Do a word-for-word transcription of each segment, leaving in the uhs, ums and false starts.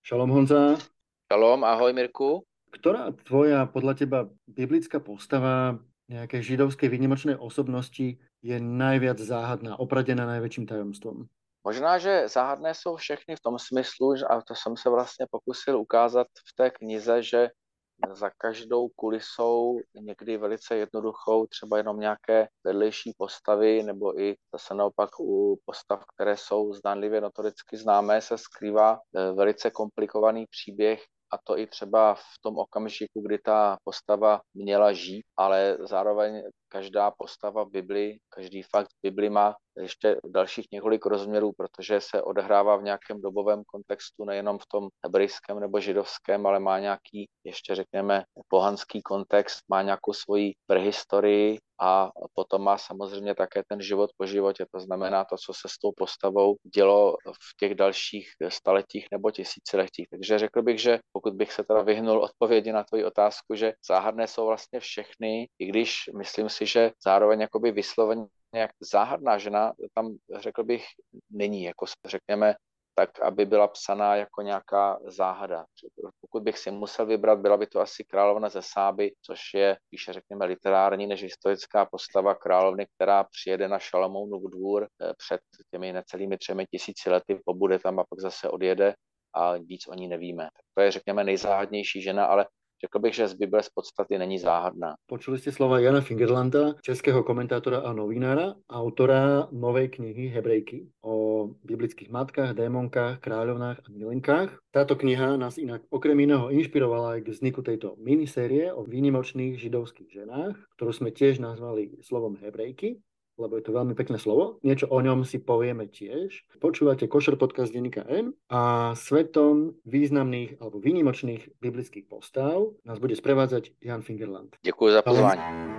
Šalom Honza, Šalom, ahoj Mirku. ktorá tvoja podľa teba biblická postava nejakej židovskej výnimočnej osobnosti je najviac záhadná, opradená najväčším tajomstvom? Možná, že záhadné jsou všechny v tom smyslu, že, a to jsem se vlastně pokusil ukázat v té knize, že za každou kulisou někdy velice jednoduchou, třeba jenom nějaké vedlejší postavy, nebo i zase naopak u postav, které jsou zdánlivě notoricky známé, se skrývá eh, velice komplikovaný příběh, a to i třeba v tom okamžiku, kdy ta postava měla žít, ale zároveň každá postava v Bibli, každý fakt v Bibli má ještě dalších několik rozměrů, protože se odehrává v nějakém dobovém kontextu, nejenom v tom hebrejském nebo židovském, ale má nějaký, ještě řekněme, pohanský kontext, má nějakou svoji prehistorii a potom má samozřejmě také ten život po životě. To znamená to, co se s tou postavou dělo v těch dalších staletích nebo tisíciletích. Takže řekl bych, že pokud bych se teda vyhnul odpovědi na tvoji otázku, že záhadné jsou vlastně všechny, i když myslím si, že zároveň jakoby vysloveně nějak záhadná žena tam, řekl bych, není, jako řekněme, tak, aby byla psaná jako nějaká záhada. Pokud bych si musel vybrat, byla by to asi královna ze Sáby, což je spíše, řekněme, literární než historická postava královny, která přijede na Šalamounův dvůr před těmi necelými třemi tisíci lety, pobude tam a pak zase odjede a víc o ní nevíme. To je, řekněme, nejzáhadnější žena, ale řekl bych, že z Bible z podstaty není záhadná. Počuli ste slova Jana Fingerlanda, českého komentátora a novinára, autora novej knihy Hebrejky o biblických matkách, démonkách, kráľovnách a milenkách. Táto kniha nás inak okrem iného inšpirovala aj k vzniku tejto minisérie o výnimočných židovských ženách, ktorú sme tiež nazvali slovom Hebrejky, lebo je to veľmi pekné slovo. Niečo o ňom si povieme tiež. Počúvate Košer podcast denníka N a svetom významných alebo výnimočných biblických postav nás bude sprevádzať Jan Fingerland. Děkuji za pozvání.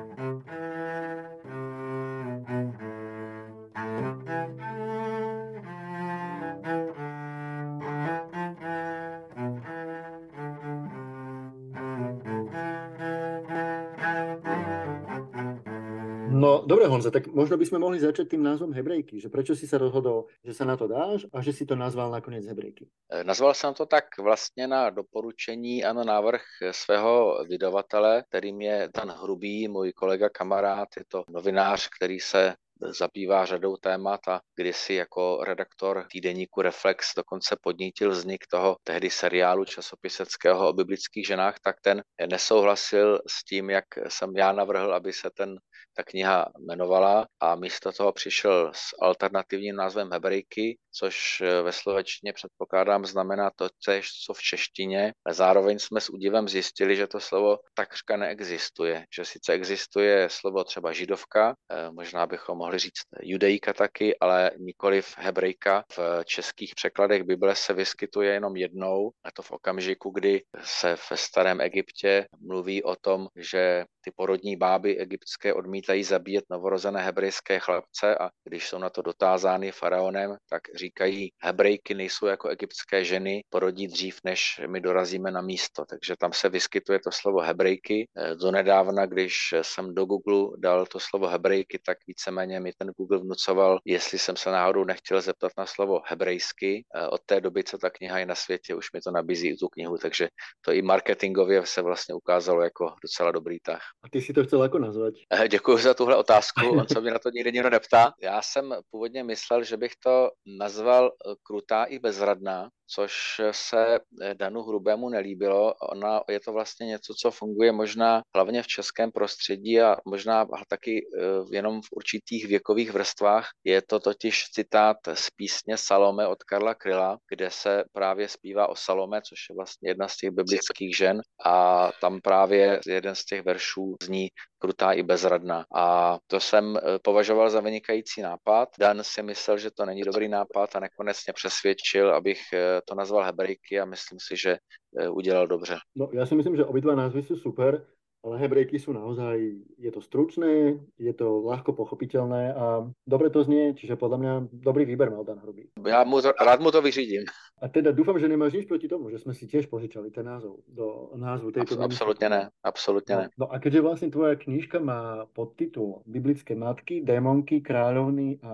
No, dobre, Honza, tak možno by sme mohli začať tým názvom Hebrejky, že prečo si sa rozhodol, že sa na to dáš a že si to nazval nakoniec Hebrejky? Nazval jsem to tak vlastně na doporučení a na návrh svého vydavatele, kterým je Dan Hrubý, můj kolega, kamarád, je to novinář, který se zabývá řadou témat a kdysi jako redaktor týdeníku Reflex dokonce podnítil vznik toho tehdy seriálu časopiseckého o biblických ženách, tak ten nesouhlasil s tím, jak jsem já navrhl, aby se ten, ta kniha jmenovala, a místo toho přišel s alternativním názvem Hebrejky, což ve slovenštině předpokládám znamená to též, co v češtině. A zároveň jsme s údivem zjistili, že to slovo takřka neexistuje, že sice existuje slovo třeba židovka, možná bychom mohli říct judejka taky, ale nikoliv hebrejka. V českých překladech Bible se vyskytuje jenom jednou, a to v okamžiku, kdy se ve starém Egyptě mluví o tom, že ty porodní báby egyptské odmítají zabíjet novorozené hebrejské chlapce, a když jsou na to dotázány faraonem, tak říkají, hebrejky nejsou jako egyptské ženy, porodí dřív, než my dorazíme na místo. Takže tam se vyskytuje to slovo hebrejky. Donedávna, když jsem do Google dal to slovo hebrejky, tak víceméně mi ten Google vnucoval, jestli jsem se náhodou nechtěl zeptat na slovo hebrejsky. Od té doby, co ta kniha je na světě, už mi to nabízí i tu knihu, takže to i marketingově se vlastně ukázalo jako docela dobrý tah. A ty si to chcel ako nazvať? Děkuji za tuhle otázku, on se mi na to nikdy nikdo neptá. Já jsem původně myslel, že bych to nazval Krutá i bezradná, což se Danu Hrubému nelíbilo. Ona, je to vlastně něco, co funguje možná hlavně v českém prostředí a možná taky jenom v určitých věkových vrstvách. Je to totiž citát z písně Salome od Karla Kryla, kde se právě zpívá o Salome, což je vlastně jedna z těch biblických žen, a tam právě jeden z těch veršů zní Krutá i bezradná. A to jsem považoval za vynikající nápad. Dan si myslel, že to není dobrý nápad a nakonec mě přesvědčil, abych to nazval Hebrejky, a myslím si, že udělal dobře. No, ja si myslím, že obidva názvy sú super, ale Hebrejky sú naozaj, je to stručné, je to ľahko pochopiteľné a dobre to znie, čiže podľa mňa dobrý výber mal Dan Hrubý. Já mu to, rád mu to vyřídím. A teda dúfam, že nemáš nič proti tomu, že sme si tiež požičali ten názov do názvu tejto Abs- absolutně ne, absolutně ne. No, no a keďže vlastne tvoja knižka má podtitul Biblické matky, démonky, kráľovny a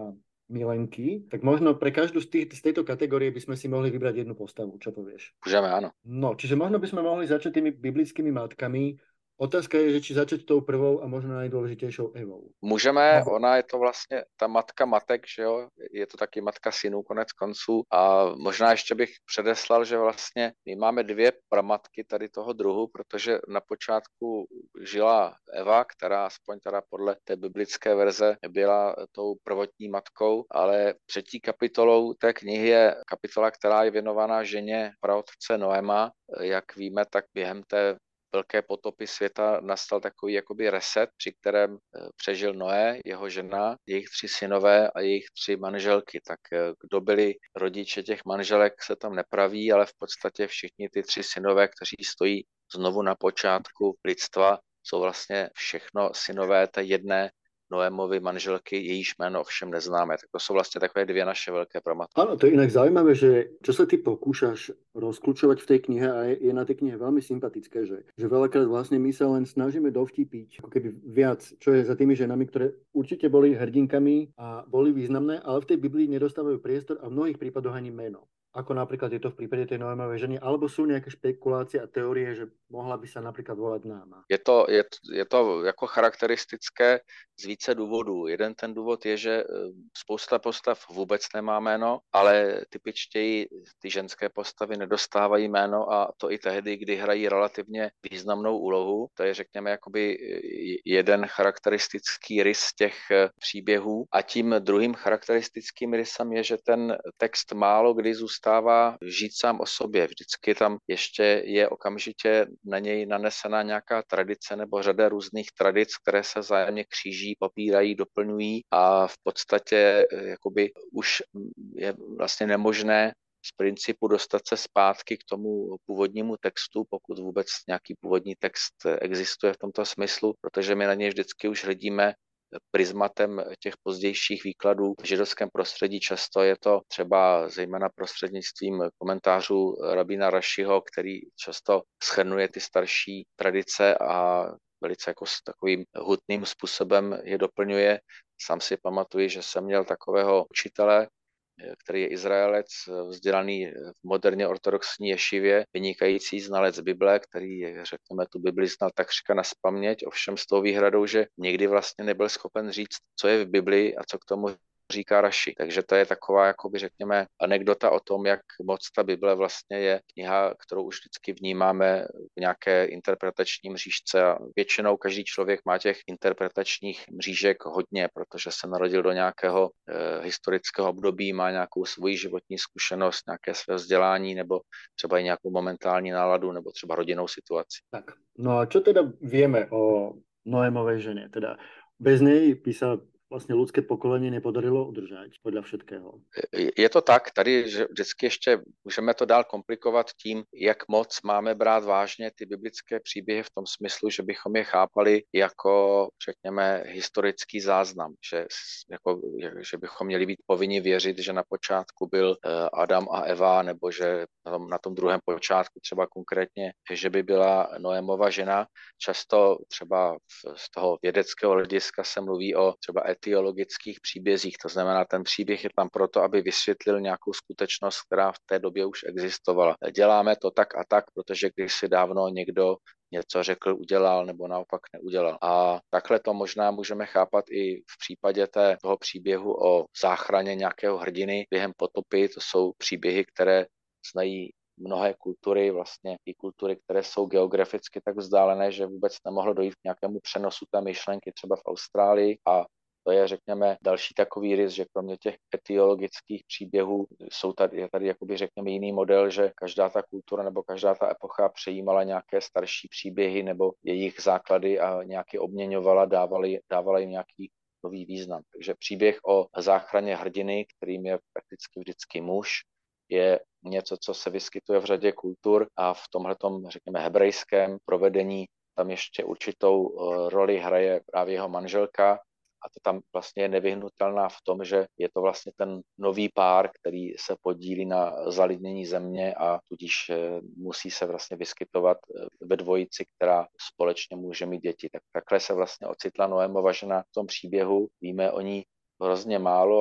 milenky, tak možno pre každú z, tých, z tejto kategórie by sme si mohli vybrať jednu postavu. Čo povieš? Můžeme, ano. No, čiže možno by sme mohli začať tými biblickými matkami. Otázka je, že či začať tou prvou a možno najdôležitejšou Evou. Můžeme, Nebo... ona je to vlastně ta matka matek, že jo, je to taky matka synů konec konců a možná ještě bych předeslal, že vlastně my máme dvě pramatky tady toho druhu, protože na počátku žila Eva, která aspoň teda podle té biblické verze byla tou prvotní matkou, ale třetí kapitolou té knihy je kapitola, která je věnovaná ženě praotce Noema. Jak víme, tak během té velké potopy světa nastal takový jakoby reset, při kterém přežil Noé, jeho žena, jejich tři synové a jejich tři manželky. Tak kdo byli rodiče těch manželek, se tam nepraví, ale v podstatě všichni ty tři synové, kteří stojí znovu na počátku lidstva, jsou vlastně všechno synové té jedné Noémovy manželky, jejíž jméno ovšem neznáme. Tak to sú vlastne takové dvě naše veľké pramatky. Áno, to je inak zaujímavé, že čo sa ty pokúšaš rozklúčovať v tej knihe a je, je na tej knihe veľmi sympatické, že, že veľakrát vlastne my sa len snažíme dovtipiť ako keby viac, čo je za tými ženami, ktoré určite boli hrdinkami a boli významné, ale v tej Biblii nedostávajú priestor a v mnohých prípadoch ani meno. Ako napríklad je to v prípade tej Noémovej ženy, alebo sú nejaké špekulácie a teórie, že mohla by sa napríklad volať Náma. Je to, je, je to jako charakteristické z více důvodů. Jeden ten důvod je, že spousta postav vůbec nemá jméno, ale typičtěji ty ženské postavy nedostávají jméno a to i tehdy, kdy hrají relativně významnou úlohu. To je, řekněme, jakoby jeden charakteristický rys těch příběhů. A tím druhým charakteristickým rysem je, že ten text málo kdy zůstává žít sám o sobě. Vždycky tam ještě je okamžitě na něj nanesená nějaká tradice nebo řada různých tradic, které se vzájemně kříží, popírají, doplňují a v podstatě jakoby už je vlastně nemožné z principu dostat se zpátky k tomu původnímu textu, pokud vůbec nějaký původní text existuje v tomto smyslu, protože my na něj vždycky už hledíme prismatem těch pozdějších výkladů v židovském prostředí. Často je to třeba zejména prostřednictvím komentářů rabína Rašiho, který často shrnuje ty starší tradice a velice jako s takovým hutným způsobem je doplňuje. Sám si pamatuji, že jsem měl takového učitele, který je Izraelec, vzdělaný v moderně ortodoxní ješivě, vynikající znalec Bible, který, řekněme, tu Bibli znal takřka nazpaměť, ovšem s tou výhradou, že nikdy vlastně nebyl schopen říct, co je v Bibli a co k tomu říká Raši. Takže to je taková, jakoby řekněme, anekdota o tom, jak moc ta Bible vlastně je kniha, kterou už vždycky vnímáme v nějaké interpretační mřížce a většinou každý člověk má těch interpretačních mřížek hodně, protože se narodil do nějakého e, historického období, má nějakou svoji životní zkušenost, nějaké své vzdělání nebo třeba i nějakou momentální náladu nebo třeba rodinnou situaci. Tak, no a čo teda vieme o Noémovej žene? Teda bez nej by sa vlastně lidské pokolení nepodarilo udržet podle všetkého. Je to tak, tady že vždycky ještě můžeme to dál komplikovat tím, jak moc máme brát vážně ty biblické příběhy v tom smyslu, že bychom je chápali jako, řekněme, historický záznam, že, jako, že bychom měli být povinni věřit, že na počátku byl Adam a Eva, nebo že na tom, na tom druhém počátku třeba konkrétně, že by byla Noémova žena. Často třeba z toho vědeckého hlediska se mluví o třeba etiologických příbězích, to znamená, ten příběh je tam proto, aby vysvětlil nějakou skutečnost, která v té době už existovala. Děláme to tak a tak, protože když si dávno někdo něco řekl, udělal nebo naopak neudělal. A takhle to možná můžeme chápat i v případě té, toho příběhu o záchraně nějakého hrdiny během potopy. To jsou příběhy, které znají mnohé kultury, vlastně i kultury, které jsou geograficky tak vzdálené, že vůbec nemohlo dojít k nějakému přenosu té myšlenky třeba v Austrálii a to je, řekněme, další takový rys, že kromě těch etiologických příběhů jsou tady, je tady jakoby, řekněme, jiný model, že každá ta kultura nebo každá ta epocha přejímala nějaké starší příběhy nebo jejich základy a nějaký obměňovala, dávala, dávala jim nějaký nový význam. Takže příběh o záchraně hrdiny, kterým je prakticky vždycky muž, je něco, co se vyskytuje v řadě kultur a v tomhletom, řekněme, hebrejském provedení tam ještě určitou roli hraje právě jeho manželka. A to tam vlastně je nevyhnutelná v tom, že je to vlastně ten nový pár, který se podílí na zalidnění země a tudíž musí se vlastně vyskytovat ve dvojici, která společně může mít děti. Tak takhle se vlastně ocitla Noémova žena v tom příběhu. Víme o ní hrozně málo a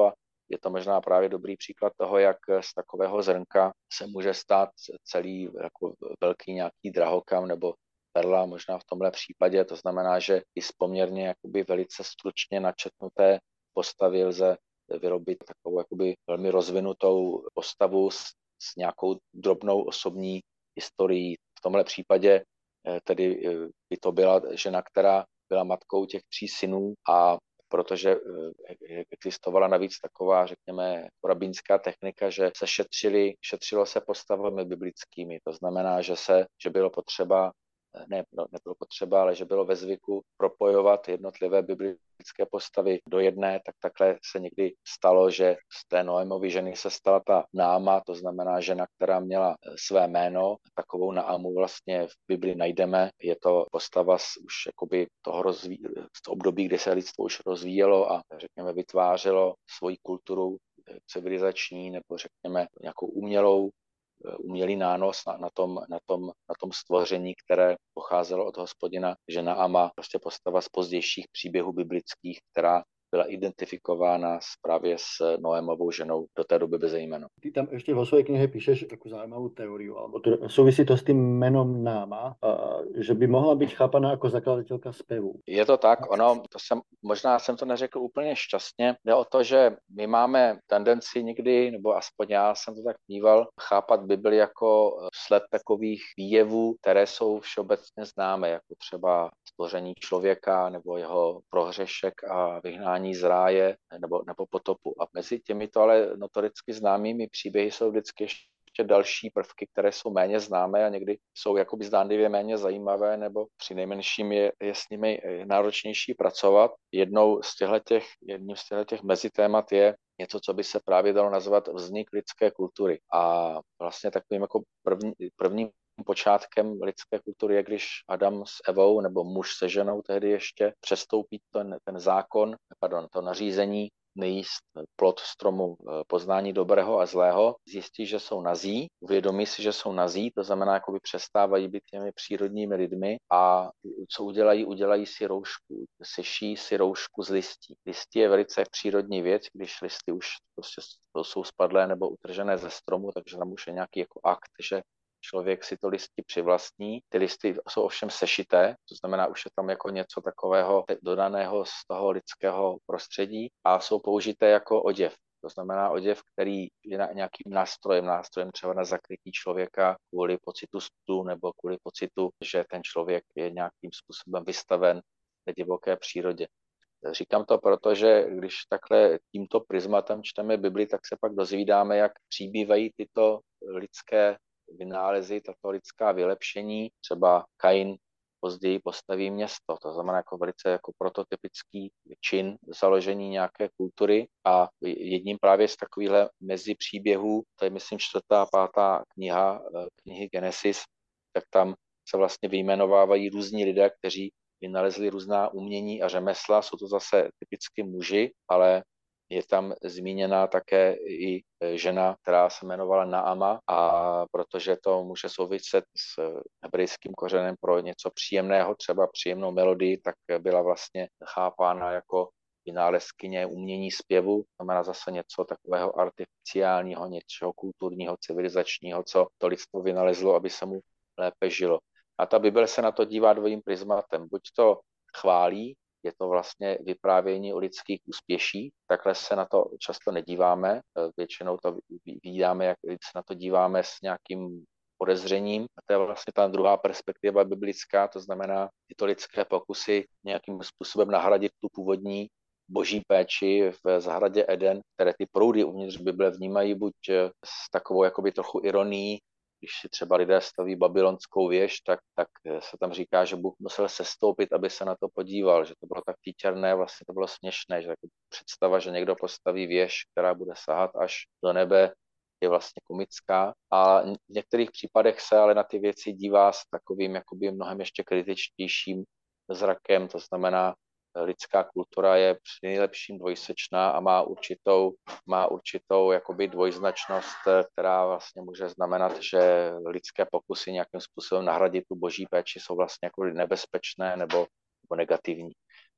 je to možná právě dobrý příklad toho, jak z takového zrnka se může stát celý jako velký nějaký drahokam nebo perla, možná v tomhle případě. To znamená, že i z poměrně jakoby velice stručně načetnuté postavy lze vyrobit takovou jakoby velmi rozvinutou postavu s, s nějakou drobnou osobní historií. V tomhle případě tedy by to byla žena, která byla matkou těch tří synů a protože existovala navíc taková, řekněme, rabínská technika, že se šetřili, šetřilo se postavami biblickými. To znamená, že se, že bylo potřeba ne, no, nebylo potřeba, ale že bylo ve zvyku propojovat jednotlivé biblické postavy do jedné, tak takhle se někdy stalo, že z té Noémovy ženy se stala ta Náma, to znamená žena, která měla své jméno, takovou Námu vlastně v Bibli najdeme, je to postava z už jakoby toho rozví, z období, kdy se lidstvo už rozvíjelo a řekněme vytvářelo svoji kulturu civilizační nebo řekněme nějakou umělou umělý nános na, na, tom, na, tom, na tom stvoření, které pocházelo od Hospodina, že Naama, prostě postava z pozdějších příběhů biblických, která byla identifikována právě s Noémovou ženou do té doby bez jména. Ty tam ešte vo svojej knihe píšeš takú zaujímavú teóriu, alebo to, súvisí to s tým menom Náma, že by mohla byť chápaná ako zakladateľka spevu. Je to tak, ono, to jsem, možná jsem to neřekl úplně šťastně, jde o to, že my máme tendenci někdy, nebo aspoň já jsem to tak vníval, chápat Bibli jako sled takových výjevů, které jsou všeobecně známé, jako třeba stvoření člověka, nebo jeho prohřešek a vyhnání z ráje, nebo, nebo potopu. A mezi těmito ale notoricky známými příběhy jsou vždycky ještě další prvky, které jsou méně známé a někdy jsou jakoby zdánlivě méně zajímavé, nebo při nejmenším je, je s nimi náročnější pracovat. Jednou z těchto, jedním z těchto mezitémat je něco, co by se právě dalo nazvat vznik lidské kultury. A vlastně takovým jako první, prvním počátkem lidské kultury je, když Adam s Evou nebo muž se ženou tehdy ještě přestoupí ten, ten zákon, pardon, to nařízení nejíst plod stromu poznání dobrého a zlého, zjistí, že jsou nazí, uvědomí si, že jsou nazí, to znamená, jakoby přestávají být těmi přírodními lidmi a co udělají, udělají si roušku, seší si roušku z listí. Listí je velice přírodní věc, když listy už prostě jsou spadlé nebo utržené ze stromu, takže tam už je nějaký jako akt, že člověk si to listí přivlastní. Ty listy jsou ovšem sešité, to znamená, už je tam jako něco takového dodaného z toho lidského prostředí a jsou použité jako oděv. To znamená oděv, který je nějakým nástrojem, nástrojem třeba na zakrytí člověka kvůli pocitu studu nebo kvůli pocitu, že ten člověk je nějakým způsobem vystaven té divoké přírodě. Říkám to proto, že když takhle tímto prismatem čteme Bibli, tak se pak dozvídáme, jak přibývají tyto lidské vynálezy, tato lidská vylepšení. Třeba Kain později postaví město, to znamená jako velice jako prototypický čin založení nějaké kultury a jedním právě z takovýchhle mezi příběhů, to je myslím čtvrtá, pátá kniha knihy Genesis, tak tam se vlastně vyjmenovávají různí lidé, kteří vynalezli různá umění a řemesla, jsou to zase typicky muži, ale je tam zmíněna také i žena, která se jmenovala Naama a protože to může souviset s hebrejským kořenem pro něco příjemného, třeba příjemnou melodii, tak byla vlastně chápána jako vynálezkyně umění zpěvu, znamená zase něco takového artificiálního, něčeho kulturního, civilizačního, co to lidstvo vynalezlo, aby se mu lépe žilo. A ta Bible se na to dívá dvojím prismatem. Buď to chválí, je to vlastně vyprávění o lidských úspěších, takhle se na to často nedíváme, většinou to vídáme, jak se na to díváme s nějakým podezřením. A to je vlastně ta druhá perspektiva biblická, to znamená tyto lidské pokusy nějakým způsobem nahradit tu původní boží péči v zahradě Eden, které ty proudy uvnitř Bible vnímají buď s takovou jakoby trochu ironií, když si třeba lidé staví babylonskou věž, tak, tak se tam říká, že Bůh musel sestoupit, aby se na to podíval, že to bylo tak títěrné, vlastně to bylo směšné, že jako představa, že někdo postaví věž, která bude sahat až do nebe, je vlastně komická. A v některých případech se ale na ty věci dívá s takovým jakoby mnohem ještě kritičtějším zrakem, to znamená, lidská kultura je při nejlepším dvojsečná a má určitou, má určitou jakoby dvojznačnost, která vlastně může znamenat, že lidské pokusy nějakým způsobem nahradit tu boží péči jsou vlastně jako nebezpečné nebo, nebo negativní.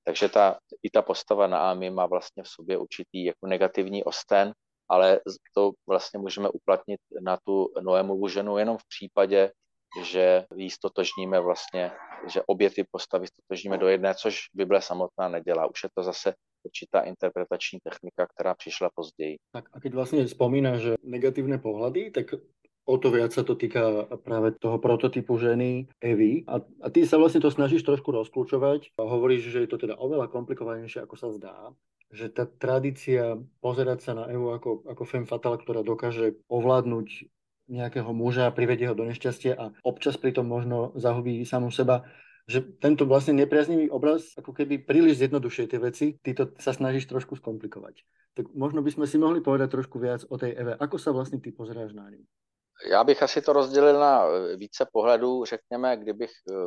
Takže ta, i ta postava Naámi má vlastně v sobě určitý jako negativní osten, ale to vlastně můžeme uplatnit na tu Noémovu ženu jenom v případě, že ji stotožníme vlastně, že obě ty postavy stotožníme do jedné, což Bible samotná nedělá. Už je to zase určitá interpretační technika, která přišla později. Tak a keď vlastne spomínaš, že negatívne pohľady, tak o to viac sa to týka práve toho prototypu ženy Evy. A, a ty sa vlastne to snažíš trošku rozklúčovať a hovoríš, že je to teda oveľa komplikovanejšie, ako sa zdá. Že tá tradícia pozerať sa na Evu ako, ako femme fatale, ktorá dokáže ovládnuť nejakého muža, privedie ho do nešťastia a občas pritom možno zahubí samú seba, že tento vlastne nepriaznivý obraz ako keby príliš zjednodušuje tie veci, ty to sa snažíš trošku skomplikovať. Tak možno by sme si mohli povedať trošku viac o tej Eve. Ako sa vlastne ty pozeráš na ňu? Já bych asi to rozdělil na více pohledů, řekněme, kdybych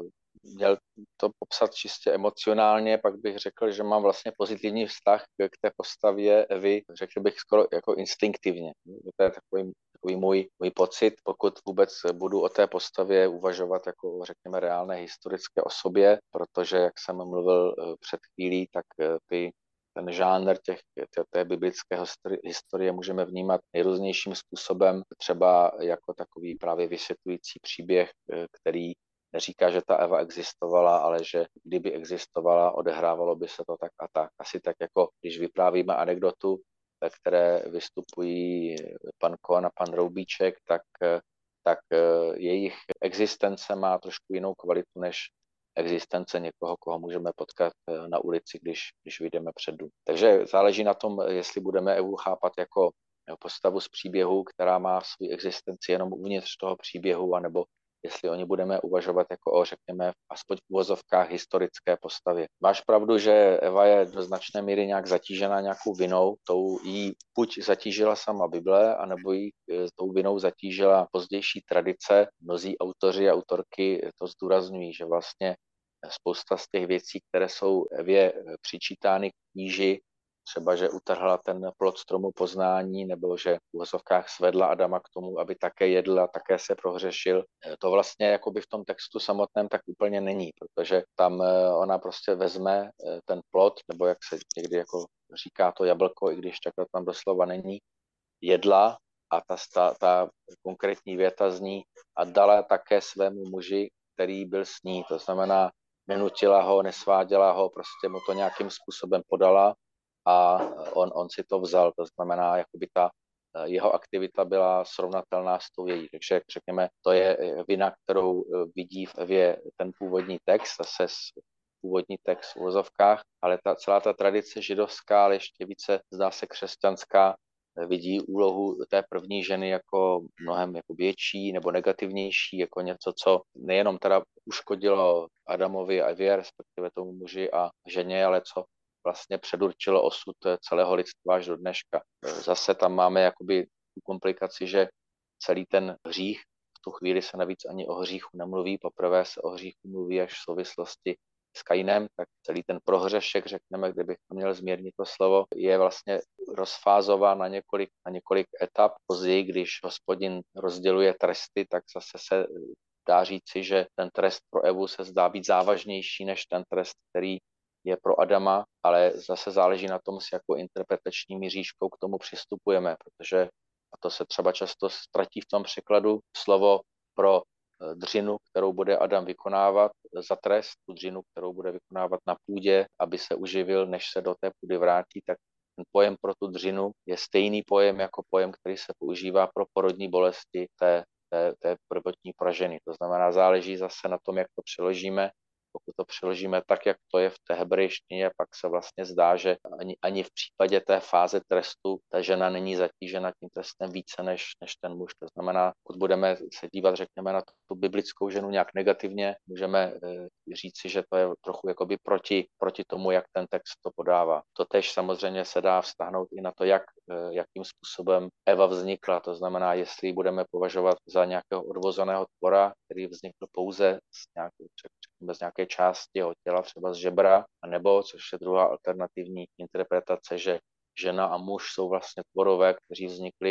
měl to popsat čistě emocionálně, pak bych řekl, že mám vlastně pozitivní vztah k té postavě Evy, řekl bych skoro jako instinktivně. To je takový, takový můj, můj pocit, pokud vůbec budu o té postavě uvažovat jako o, řekněme, reálné historické osobě, protože, jak jsem mluvil před chvílí, tak ty ten žánr těch, té, té biblické historie můžeme vnímat nejrůznějším způsobem, třeba jako takový právě vysvětlující příběh, který neříká, že ta Eva existovala, ale že kdyby existovala, odehrávalo by se to tak a tak. Asi tak jako když vyprávíme anekdotu, ve které vystupují pan Kohan a pan Roubíček, tak, tak jejich existence má trošku jinou kvalitu než existence někoho, koho můžeme potkat na ulici, když, když vyjdeme před dům. Takže záleží na tom, jestli budeme Evu chápat jako postavu z příběhu, která má svou existenci jenom uvnitř toho příběhu, anebo jestli o ní budeme uvažovat jako o, řekněme, aspoň v uvozovkách historické postavě. Máš pravdu, že Eva je do značné míry nějak zatížena nějakou vinou, tou jí buď zatížila sama Bible, anebo jí tou vinou zatížila pozdější tradice. Mnozí autoři a autorky to zdůrazňují, že vlastně spousta z těch věcí, které jsou Evě přičítány k kníži, třeba, že utrhla ten plod stromu poznání, nebo že v uvozovkách svedla Adama k tomu, aby také jedl a také se prohřešil. To vlastně jakoby v tom textu samotném tak úplně není, protože tam ona prostě vezme ten plod, nebo jak se někdy jako říká to jablko, i když takhle tam doslova není, jedla a ta, ta, ta konkrétní věta zní a dala také svému muži, který byl s ní. To znamená, nenutila ho, nesváděla ho, prostě mu to nějakým způsobem podala a on, on si to vzal. To znamená, jakoby ta jeho aktivita byla srovnatelná s tou její. Takže řekněme, to je vina, kterou vidí v Evě ten původní text, zase původní text v uvozovkách, ale ta, celá ta tradice židovská, ale ještě více zdá se křesťanská, vidí úlohu té první ženy jako mnohem jako větší nebo negativnější, jako něco, co nejenom teda uškodilo Adamovi a Evě, respektive tomu muži a ženě, ale co vlastně předurčilo osud celého lidstva až do dneška. Zase tam máme jakoby tu komplikaci, že celý ten hřích, v tu chvíli se navíc ani o hříchu nemluví, poprvé se o hříchu mluví až v souvislosti s Kainem, tak celý ten prohřešek, řekněme, kdybych měl zmírnit to slovo, je vlastně rozfázován na několik, na několik etap. Později, když Hospodin rozděluje tresty, tak zase se dá říci, že ten trest pro Evu se zdá být závažnější než ten trest, který je pro Adama, ale zase záleží na tom, s jakou interpretační mířížkou k tomu přistupujeme, protože, a to se třeba často ztratí v tom překladu, slovo pro dřinu, kterou bude Adam vykonávat za trest, tu dřinu, kterou bude vykonávat na půdě, aby se uživil, než se do té půdy vrátí, tak ten pojem pro tu dřinu je stejný pojem jako pojem, který se používá pro porodní bolesti té, té, té prvotní praženy. To znamená, záleží zase na tom, jak to přeložíme. Pokud to přeložíme tak, jak to je v té hebrejštině, pak se vlastně zdá, že ani, ani v případě té fáze trestu ta žena není zatížena tím trestem více než, než ten muž. To znamená, pokud budeme se dívat, řekněme, na tu biblickou ženu nějak negativně, můžeme e, říci, že to je trochu jakoby proti, proti tomu, jak ten text to podává. To tež samozřejmě se dá vztahnout i na to, jak, e, jakým způsobem Eva vznikla. To znamená, jestli budeme považovat za nějakého odvozeného tvora, který vznikl pouze z nějakou, bez nějaké části jeho těla, třeba z žebra, anebo, což je druhá alternativní interpretace, že žena a muž jsou vlastně tvorové, kteří vznikli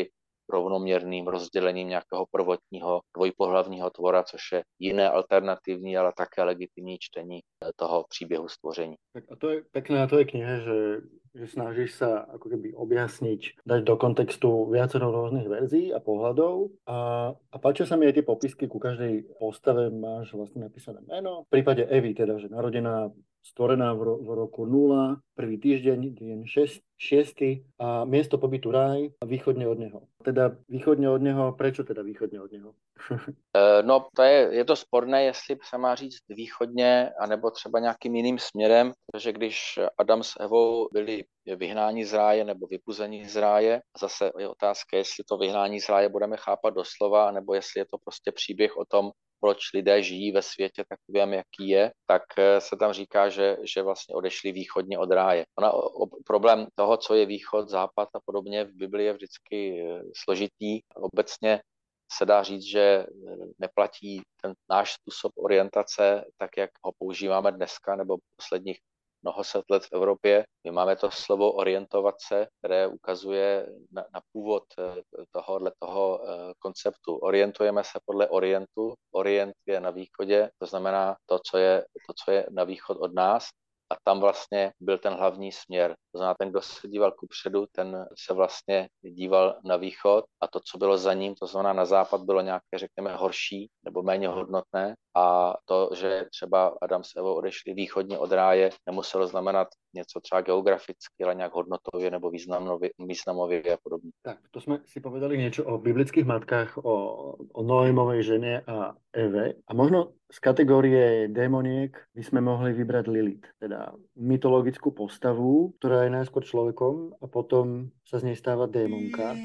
rovnoměrným rozdělením nějakého prvotního dvojpohlavního tvora, což je jiné alternativní, ale také legitimní čtení toho příběhu stvoření. Tak a to je pekné na tvojej knihe, že, že snažíš sa ako keby objasniť, dať do kontextu viacero rôznych verzií a pohľadov a, a páčia sa mi aj tie popisky, ku každej postave máš vlastne napísané meno. V prípade Evy teda, že narodená, stvorená v, ro- v roku nula, prvý týždeň, deň šesť, šiesty a miesto pobytu ráj a východne od neho. Teda východne od neho, prečo teda východne od neho? No, to je, je to sporné, jestli se má říct východně, anebo třeba nějakým jiným směrem, protože když Adam s Evou byli vyhnáni z ráje nebo vypuzeni z ráje, zase je otázka, jestli to vyhnání z ráje budeme chápat doslova, nebo jestli je to prostě příběh o tom, proč lidé žijí ve světě takovém, jaký je, tak se tam říká, že, že vlastně odešli východně od ráje. Ona, o, problém toho, co je východ, západ a podobně v Biblii je vždycky složitý. Obecně se dá říct, že neplatí ten náš způsob orientace, tak jak ho používáme dneska nebo posledních mnoho set let v Evropě. My máme to slovo orientovat se, které ukazuje na, na původ tohohle toho konceptu. Orientujeme se podle orientu. Orient je na východě, to znamená to, co je, to, co je na východ od nás. A tam vlastně byl ten hlavní směr. To znamená, ten, kdo se díval kupředu, ten se vlastně díval na východ a to, co bylo za ním, to znamená na západ, bylo nějaké, řekněme, horší nebo méně hodnotné. A to, že třeba Adam s Evou odešli východně od ráje, nemuselo znamenat něco třeba geograficky, ale nějak hodnotově nebo významově, významově a podobně. Tak, to jsme si povedali niečo o biblických matkách, o, o Noémovej žene a Eve. A možno z kategórie démoniek by sme mohli vybrať Lilith, teda mytologickú postavu, ktorá je najskôr človekom a potom sa z nej stáva démonka.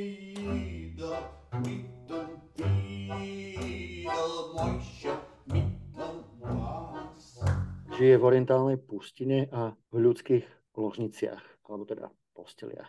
Žije v orientálnej pustine a v ľudských ložniciach, alebo teda posteliach.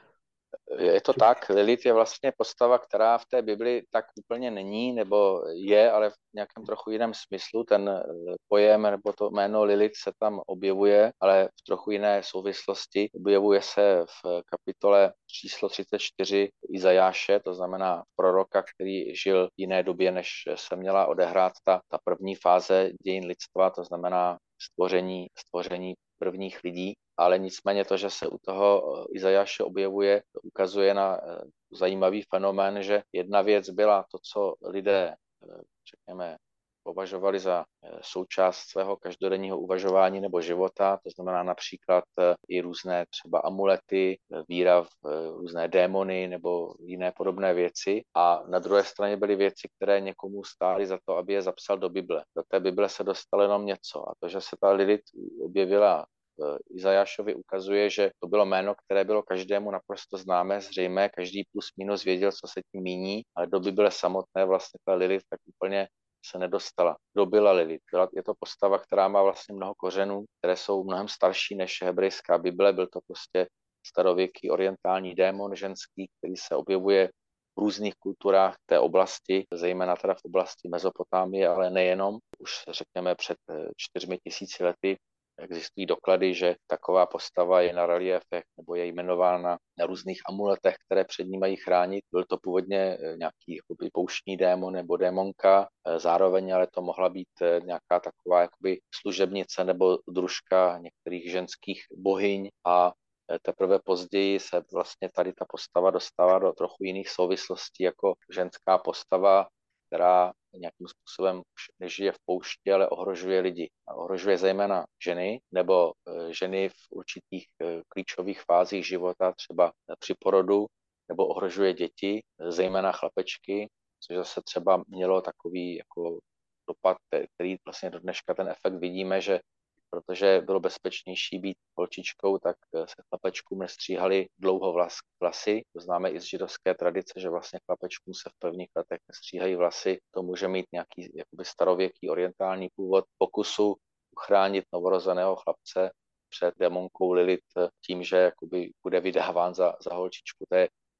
Je to tak, Lilith je vlastně postava, která v té Bibli tak úplně není, nebo je, ale v nějakém trochu jiném smyslu. Ten pojem nebo to jméno Lilith se tam objevuje, ale v trochu jiné souvislosti. Objevuje se v kapitole číslo třicet čtyři Izajáše, to znamená proroka, který žil v jiné době, než se měla odehrát ta, ta první fáze dějin lidstva, to znamená stvoření, stvoření prvních lidí, ale nicméně to, že se u toho Izajáše objevuje, ukazuje na zajímavý fenomén, že jedna věc byla to, co lidé, řekněme, považovali za součást svého každodenního uvažování nebo života, to znamená například i různé třeba amulety, víra v různé démony nebo jiné podobné věci. A na druhé straně byly věci, které někomu stály za to, aby je zapsal do Bible. Do té Bible se dostalo jenom něco a to, že se ta Lilith objevila Izajášovi, ukazuje, že to bylo jméno, které bylo každému naprosto známé, zřejmé, každý plus minus věděl, co se tím míní, ale do Bible samotné vlastně ta Lilith tak úplně se nedostala. Kdo byla Lilith? Byla, je to postava, která má vlastně mnoho kořenů, které jsou mnohem starší než hebrejská Bible. Byl to prostě starověký orientální démon ženský, který se objevuje v různých kulturách té oblasti, zejména teda v oblasti Mezopotámie, ale nejenom. Už řekněme před čtyřmi tisíci lety existují doklady, že taková postava je na reliefech nebo je jmenována na různých amuletech, které před ní mají chránit. Byl to původně nějaký jakoby, pouštní démon nebo démonka, zároveň ale to mohla být nějaká taková jakoby, služebnice nebo družka některých ženských bohyň a teprve později se vlastně tady ta postava dostává do trochu jiných souvislostí jako ženská postava, která nějakým způsobem už nežije v poušti, ale ohrožuje lidi. A ohrožuje zejména ženy nebo ženy v určitých klíčových fázích života, třeba při porodu, nebo ohrožuje děti, zejména chlapečky, což zase třeba mělo takový jako dopad, který vlastně do dneška ten efekt vidíme, že protože bylo bezpečnější být holčičkou, tak se chlapečkům nestříhali dlouho vlas, vlasy. To známe i z židovské tradice, že vlastně chlapečkům se v prvních letech nestříhají vlasy. To může mít nějaký jakoby starověký orientální původ pokusu uchránit novorozeného chlapce před démonkou Lilith tím, že jakoby bude vydáván za, za holčičku. To je,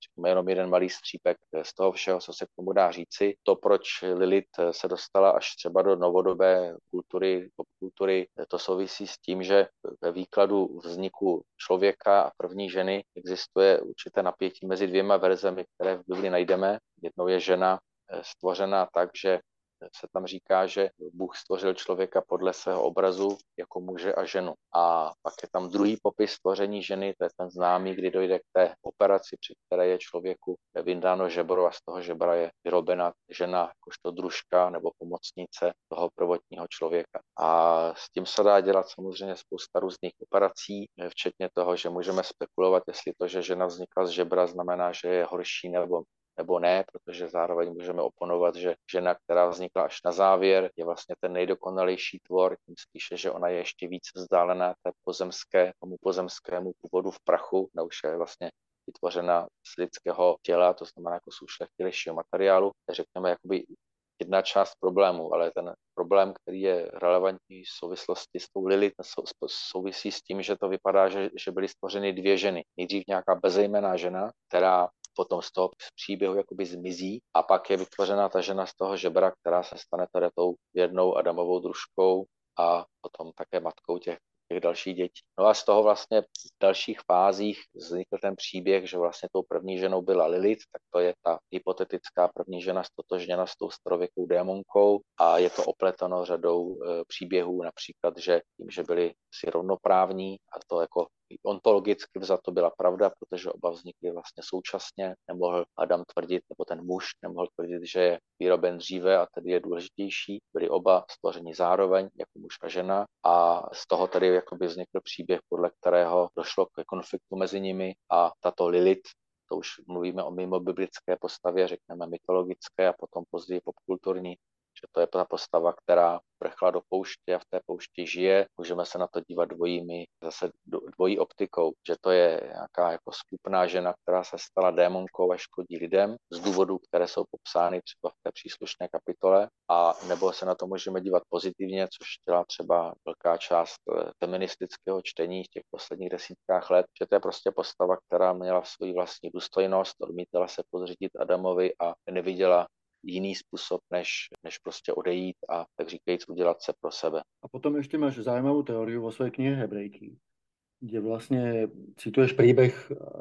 řekněme jenom jeden malý střípek z toho všeho, co se k tomu dá říci. To, proč Lilith se dostala až třeba do novodobé kultury, popkultury, to souvisí s tím, že ve výkladu vzniku člověka a první ženy existuje určité napětí mezi dvěma verzemi, které v Bibli najdeme. Jednou je žena stvořená tak, že se tam říká, že Bůh stvořil člověka podle svého obrazu jako muže a ženu. A pak je tam druhý popis stvoření ženy, to je ten známý, kdy dojde k té operaci, při které je člověku vyndáno žebro a z toho žebra je vyrobena žena jakožto družka nebo pomocnice toho prvotního člověka. A s tím se dá dělat samozřejmě spousta různých operací, včetně toho, že můžeme spekulovat, jestli to, že žena vznikla z žebra, znamená, že je horší nebo nebo ne, protože zároveň můžeme oponovat, že žena, která vznikla až na závěr, je vlastně ten nejdokonalejší tvor, tím spíše, že ona je ještě víc vzdálená té pozemské, tomu pozemskému původu v prachu, ona už je vlastně vytvořena z lidského těla, to znamená jako z ušlechtilejšího materiálu, řekněme jakoby jedna část problému, ale ten problém, který je relevantní v souvislosti s tou Lilith, souvisí s tím, že to vypadá, že, že byly stvořeny dvě ženy. Nejdřív nějaká bezejmenná žena, která potom z toho příběhu jakoby zmizí a pak je vytvořena ta žena z toho žebra, která se stane tady tou jednou Adamovou družkou a potom také matkou těch, těch dalších dětí. No a z toho vlastně v dalších fázích vznikl ten příběh, že vlastně tou první ženou byla Lilith, tak to je ta hypotetická první žena stotožněna s tou starověkou démonkou a je to opleteno řadou e, příběhů, například, že tím, že byli si rovnoprávní a to jako ontologicky vzato byla pravda, protože oba vznikly vlastně současně. Nemohl Adam tvrdit, nebo ten muž nemohl tvrdit, že je vyroben dříve a tedy je důležitější. Byli oba stvořeni zároveň, jako muž a žena a z toho tedy jakoby vznikl příběh, podle kterého došlo k konfliktu mezi nimi a tato Lilith, to už mluvíme o mimo biblické postavě, řekneme mytologické a potom později popkulturní, že to je ta postava, která prchla do pouště a v té poušti žije. Můžeme se na to dívat dvojími, zase dvojí optikou, že to je nějaká jako skupná žena, která se stala démonkou a škodí lidem z důvodů, které jsou popsány třeba v té příslušné kapitole, a nebo se na to můžeme dívat pozitivně, což dělá třeba velká část feministického čtení v těch posledních desítkách let, že to je prostě postava, která měla svoji vlastní důstojnost, odmítala se podřídit Adamovi a neviděla jiný způsob, než, než prostě odejít a tak říkajíc udělat se pro sebe. A potom ešte máš zaujímavú teóriu vo svojej knihe Hebrejky, kde vlastne cituješ príbeh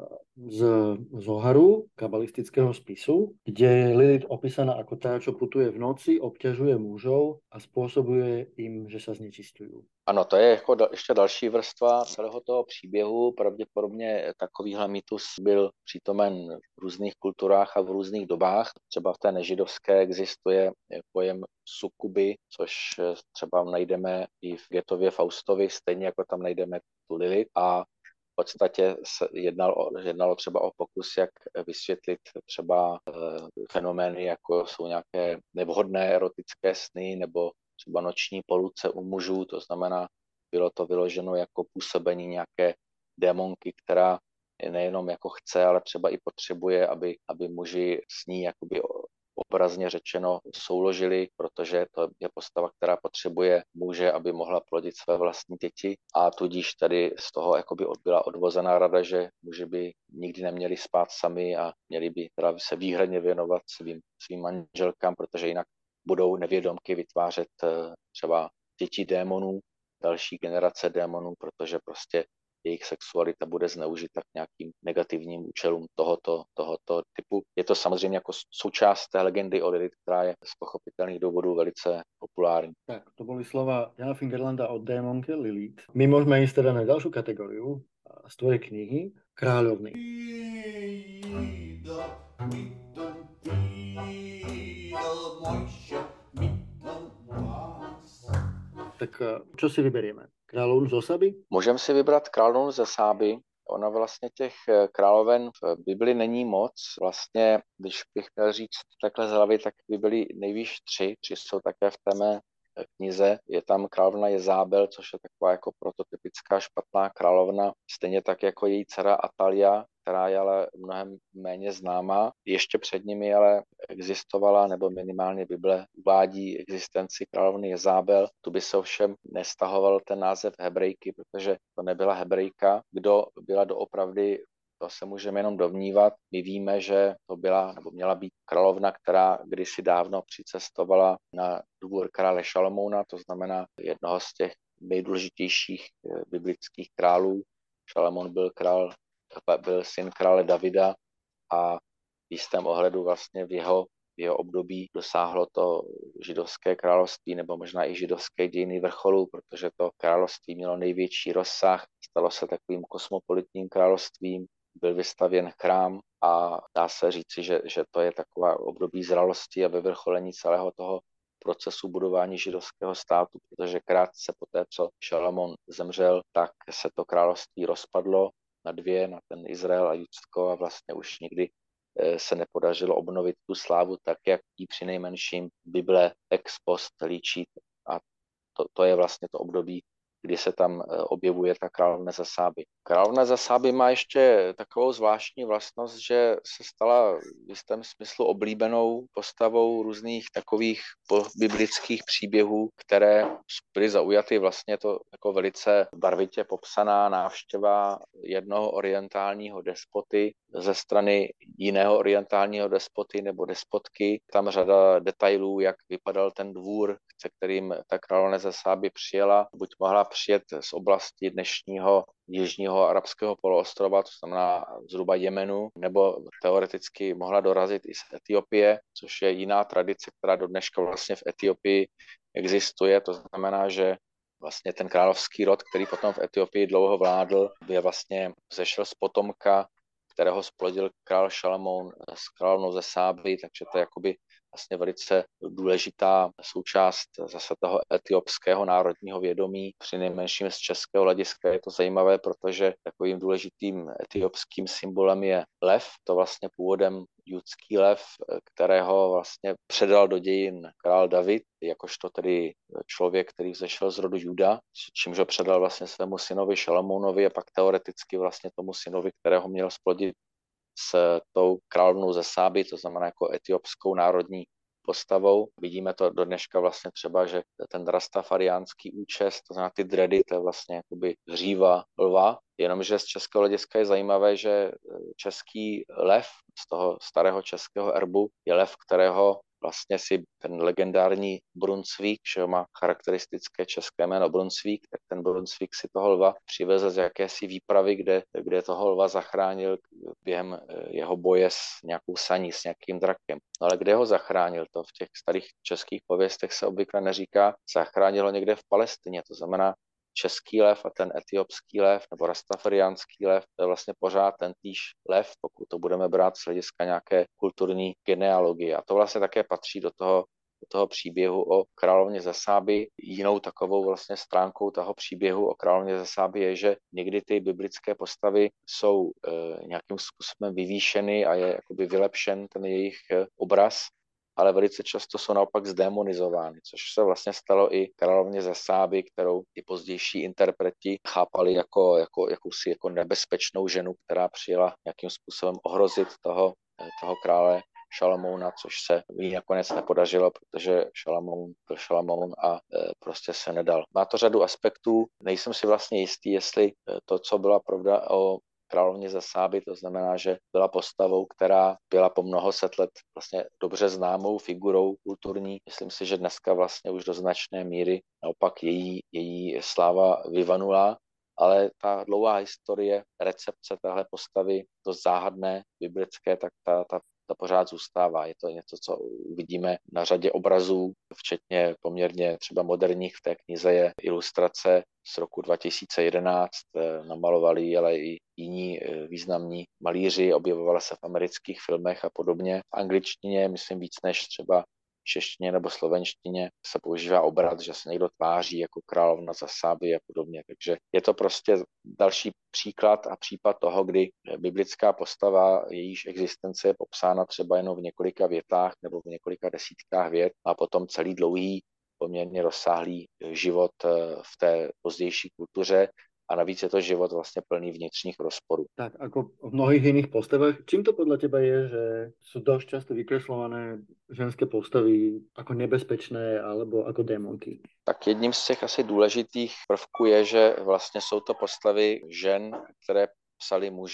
z Zoharu, kabalistického spisu, kde je Lilith opísaná ako tá, čo putuje v noci, obťažuje mužov a spôsobuje im, že sa znečistujú. Ano, to je jako da, ještě další vrstva celého toho příběhu. Pravděpodobně takovýhle mýtus byl přítomen v různých kulturách a v různých dobách. Třeba v té nežidovské existuje pojem sukuby, což třeba najdeme i v Goethevě Faustovi, stejně jako tam najdeme tu Lilith. A v podstatě se jednalo, jednalo třeba o pokus, jak vysvětlit třeba e, fenomény, jako jsou nějaké nevhodné erotické sny nebo třeba noční poluce u mužů, to znamená, bylo to vyloženo jako působení nějaké démonky, která nejenom jako chce, ale třeba i potřebuje, aby, aby muži s ní jakoby obrazně řečeno souložili, protože to je postava, která potřebuje muže, aby mohla plodit své vlastní děti, a tudíž tady z toho jakoby byla odvozená rada, že muži by nikdy neměli spát sami a měli by teda se výhradně věnovat svým, svým manželkám, protože jinak budou nevědomky vytvářet třeba děti démonů, další generace démonů, protože prostě jejich sexualita bude zneužita k nějakým negativním účelům tohoto, tohoto typu. Je to samozřejmě jako součást té legendy o Lilith, která je z pochopitelných důvodů velice populární. Tak, to boli slova Jana Fingerlanda o démonke Lilith. My môžeme ísť teda na ďalšiu kategóriu z tvojej knihy, Kráľovny. Tak čo si vyberieme? Královnu z Osaby? Můžeme si vybrat Královnu ze Sáby. Ona vlastně těch královen v Bibli není moc. Vlastně, když bych měl říct takhle z hlavy, tak by byly nejvýš tři. Tři jsou také v té mé knize. Je tam královna Jezábel, což je taková jako prototypická špatná královna. Stejně tak jako její dcera Atalia, která je ale mnohem méně známá. Ještě před nimi ale existovala, nebo minimálně Bible uvádí existenci královny Jezábel. Tu by se ovšem nestahoval ten název Hebrejky, protože to nebyla Hebrejka. Kdo byla doopravdy to se můžeme jenom domnívat. My víme, že to byla nebo měla být královna, která kdysi dávno přicestovala na dvůr krále Šalamouna, to znamená jednoho z těch nejdůležitějších biblických králů. Šalamón byl král, byl syn krále Davida a v jistém ohledu vlastně v jeho, v jeho období dosáhlo to židovské království nebo možná i židovské dějiny vrcholu, protože to království mělo největší rozsah, stalo se takovým kosmopolitním královstvím, byl vystavěn chrám a dá se říci, že, že to je taková období zralosti a vyvrcholení celého toho procesu budování židovského státu, protože krátce poté, co Šalamón zemřel, tak se to království rozpadlo na dvě, na ten Izrael a Judsko a vlastně už nikdy se nepodařilo obnovit tu slávu tak, jak ji přinejmenším Bible ex post líčí. A to, to je vlastně to období, kdy se tam objevuje ta královna za Sáby. Královna za Sáby má ještě takovou zvláštní vlastnost, že se stala v jistém smyslu oblíbenou postavou různých takových biblických příběhů, které byly zaujaty vlastně to jako velice barvitě popsaná návštěva jednoho orientálního despoty ze strany jiného orientálního despoty nebo despotky. Tam řada detailů, jak vypadal ten dvůr, se kterým ta královna ze Sáby přijela. Buď mohla přijet z oblasti dnešního jižního arabského poloostrova, to znamená zhruba Jemenu, nebo teoreticky mohla dorazit i z Etiopie, což je jiná tradice, která do dneška vlastně v Etiopii existuje. To znamená, že vlastně ten královský rod, který potom v Etiopii dlouho vládl, by vlastně zešel z potomka, kterého splodil král Šalamón s královnou ze Sáby, takže to je jakoby vlastně velice důležitá součást zase toho etiopského národního vědomí. Při nejmenším z českého hlediska je to zajímavé, protože takovým důležitým etiopským symbolem je lev. To vlastně původem judský lev, kterého vlastně předal do dějin král David, jakožto tedy člověk, který vzešel z rodu Juda, čímž ho předal vlastně svému synovi Šalamounovi a pak teoreticky vlastně tomu synovi, kterého měl splodit s tou královnou ze Sáby, to znamená jako etiopskou národní postavou. Vidíme to do dneška vlastně třeba, že ten rastafariánský účes, to znamená ty dready, to je vlastně jakoby hříva lva, jenomže z českého hlediska je zajímavé, že český lev z toho starého českého erbu je lev, kterého vlastně si ten legendární Brunsvík, že má charakteristické české jméno Brunsvík, tak ten Brunsvík si toho lva přivezl z jakési výpravy, kde, kde toho lva zachránil během jeho boje s nějakou saní, s nějakým drakem. No ale kde ho zachránil? To v těch starých českých pověstech se obvykle neříká. Zachránil ho někde v Palestině, to znamená český lev a ten etiopský lev nebo rastafariánský lev, to je vlastně pořád ten týž lev, pokud to budeme brát z hlediska nějaké kulturní genealogie. A to vlastně také patří do toho, do toho příběhu o královně ze Sáby. Jinou takovou vlastně stránkou toho příběhu o královně ze Sáby je, že někdy ty biblické postavy jsou e, nějakým způsobem vyvýšeny a je jakoby vylepšen ten jejich obraz, ale velice často jsou naopak zdemonizovány, což se vlastně stalo i královně ze Sáby, kterou i pozdější interpreti chápali jako, jako jakousi jako nebezpečnou ženu, která přijela nějakým způsobem ohrozit toho, toho krále Šalamouna, což se jí nakonec nepodařilo, protože Šalamoun byl Šalamoun a e, prostě se nedal. Má to řadu aspektů, nejsem si vlastně jistý, jestli to, co byla pravda o královně ze Sáby, to znamená, že byla postavou, která byla po mnoho set let vlastně dobře známou figurou kulturní. Myslím si, že dneska vlastně už do značné míry naopak její, její sláva vyvanula, ale ta dlouhá historie, recepce téhle postavy, to záhadné biblické, tak ta, ta ta pořád zůstává. Je to něco, co uvidíme na řadě obrazů, včetně poměrně třeba moderních. V té knize je ilustrace z roku dva tisíce jedenáct, namalovali ale i jiní významní malíři, objevovala se v amerických filmech a podobně. V angličtině, myslím víc než třeba v češtině nebo slovenštině se používá obrat, že se někdo tváří jako královna za Sáby a podobně. Takže je to prostě další příklad a případ toho, kdy biblická postava, jejíž existence je popsána třeba jenom v několika větách nebo v několika desítkách vět a potom celý dlouhý, poměrně rozsáhlý život v té pozdější kultuře. A navíc je to život vlastně plný vnitřních rozporů. Tak ako v mnohých iných postavách, čím to podľa teba je, že sú dosť často vykreslované ženské postavy ako nebezpečné alebo ako démonky? Tak jedním z těch asi důležitých prvků je, že vlastně jsou to postavy žen, které psali muži.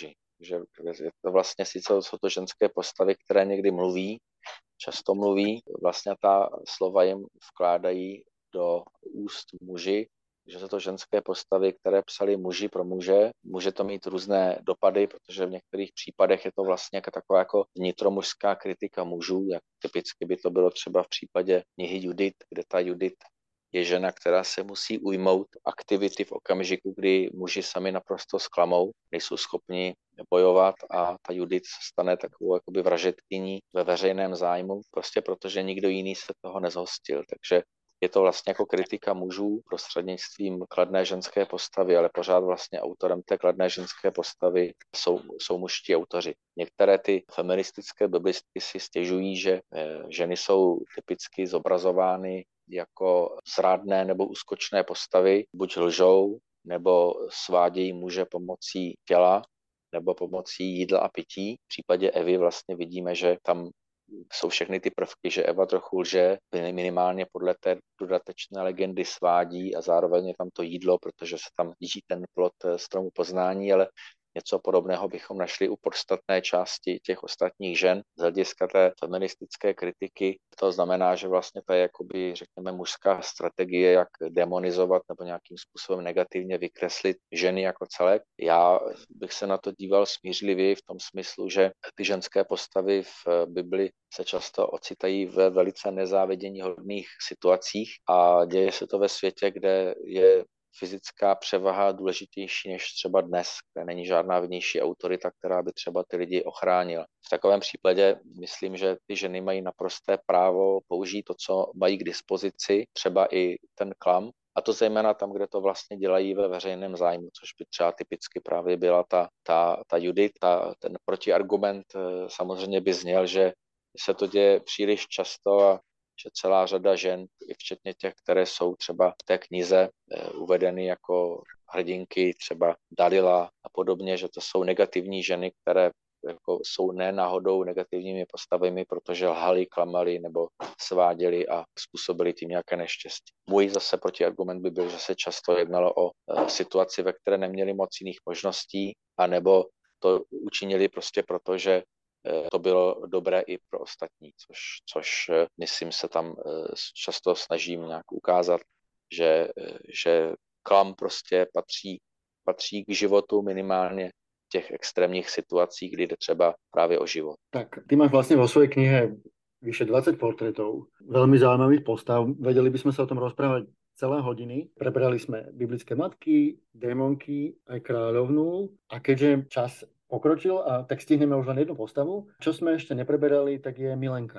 že je to vlastně sice jsou to ženské postavy, které někdy mluví, často mluví, vlastně ta slova jim vkládají do úst muži, že jsou to ženské postavy, které psali muži pro muže. Může to mít různé dopady, protože v některých případech je to vlastně jako taková jako vnitromužská kritika mužů, jak typicky by to bylo třeba v případě knihy Judith, kde ta Judith je žena, která se musí ujmout aktivity v okamžiku, kdy muži sami naprosto zklamou, nejsou schopni bojovat a ta Judith se stane takovou jakoby vražedkyní ve veřejném zájmu, prostě protože nikdo jiný se toho nezhostil. Takže je to vlastně jako kritika mužů prostřednictvím kladné ženské postavy, ale pořád vlastně autorem té kladné ženské postavy jsou, jsou mužští autoři. Některé ty feministické biblistky si stěžují, že ženy jsou typicky zobrazovány jako zrádné nebo úskočné postavy, buď lžou, nebo svádějí muže pomocí těla, nebo pomocí jídla a pití. V případě Evy vlastně vidíme, že tam jsou všechny ty prvky, že Eva trochu lže, minimálně podle té dodatečné legendy svádí a zároveň je tam to jídlo, protože se tam jí ten plod stromu poznání, ale něco podobného bychom našli u podstatné části těch ostatních žen. Z hlediska té feministické kritiky to znamená, že vlastně to je jakoby, řekněme, mužská strategie, jak demonizovat nebo nějakým způsobem negativně vykreslit ženy jako celek. Já bych se na to díval smířlivěji v tom smyslu, že ty ženské postavy v Bibli se často ocitají ve velice nezáviděníhodných situacích a děje se to ve světě, kde je fyzická převaha důležitější než třeba dnes, kde není žádná vnější autorita, která by třeba ty lidi ochránila. V takovém případě myslím, že ty ženy mají naprosté právo použít to, co mají k dispozici, třeba i ten klam, a to zejména tam, kde to vlastně dělají ve veřejném zájmu, což by třeba typicky právě byla ta, ta, ta Judith. Ta, ten protiargument samozřejmě by zněl, že se to děje příliš často a že celá řada žen, i včetně těch, které jsou třeba v té knize uvedeny jako hrdinky, třeba Dalila a podobně, že to jsou negativní ženy, které jako jsou ne náhodou negativními postavami, protože lhali, klamali nebo sváděli a způsobili tím nějaké neštěstí. Můj zase protiargument by byl, že se často jednalo o situaci, ve které neměli moc jiných možností, anebo to učinili prostě proto, že to bylo dobré i pro ostatní, což, což myslím se tam často snažím nějak ukázat, že, že klam prostě patří, patří k životu minimálně v těch extrémních situacích, kdy jde třeba právě o život. Tak ty máš vlastne vo svojej knihe vyše dvadsať portrétov, veľmi zaujímavých postav. Vedeli by sme sa o tom rozprávať celé hodiny. Prebrali sme biblické matky, démonky, aj kráľovnú. A keďže čas pokročil, a tak stihneme už len jednu postavu. Čo sme ešte nepreberali, tak je Milenka.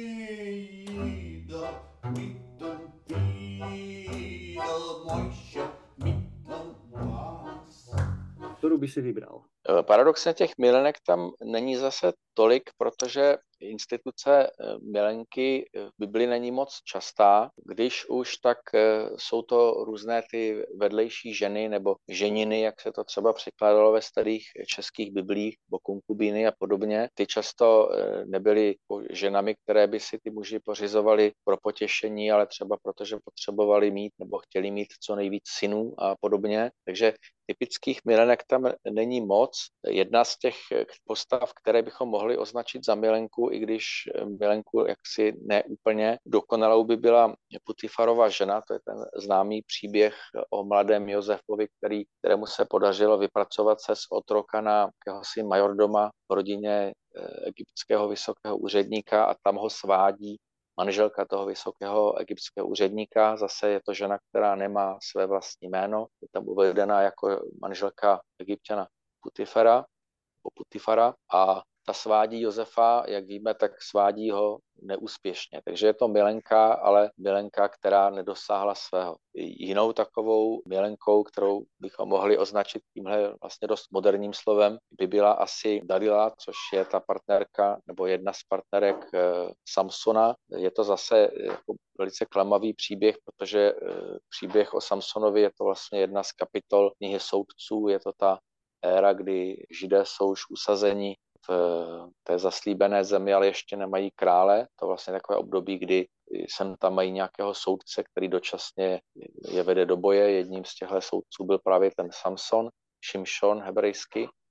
Ktorú by si vybral? Paradoxně těch milenek tam není zase tolik, protože instituce milenky v Bibli není moc častá. Když už, tak jsou to různé ty vedlejší ženy nebo ženiny, jak se to třeba překládalo ve starých českých biblích, nebo konkubíny a podobně. Ty často nebyly ženami, které by si ty muži pořizovali pro potěšení, ale třeba protože potřebovali mít nebo chtěli mít co nejvíc synů a podobně. Takže typických milenek tam není moc. Jedna z těch postav, které bychom mohli označit za milenku, i když milenku jaksi neúplně dokonalou, by byla Putifarova žena, to je ten známý příběh o mladém Josefovi, který, kterému se podařilo vypracovat se z otroka na jakéhosi majordoma v rodině egyptského vysokého úředníka a tam ho svádí manželka toho vysokého egyptského úředníka. Zase je to žena, která nemá své vlastní jméno, je tam uvedena jako manželka Egypťana Putifara, Putifara a ta svádí Josefa, jak víme, tak svádí ho neúspěšně. Takže je to milenka, ale milenka, která nedosáhla svého. Jinou takovou milenkou, kterou bychom mohli označit tímhle vlastně dost moderním slovem, by byla asi Dalila, což je ta partnerka nebo jedna z partnerek Samsona. Je to zase jako velice klamavý příběh, protože příběh o Samsonovi je to vlastně jedna z kapitol knihy Soudců, je to ta éra, kdy Židé jsou už usazeni v té zaslíbené zemi, ale ještě nemají krále. To vlastně takové období, kdy sem tam mají nějakého soudce, který dočasně je vede do boje. Jedním z těchto soudců byl právě ten Samson, Šimšon hebrejsky.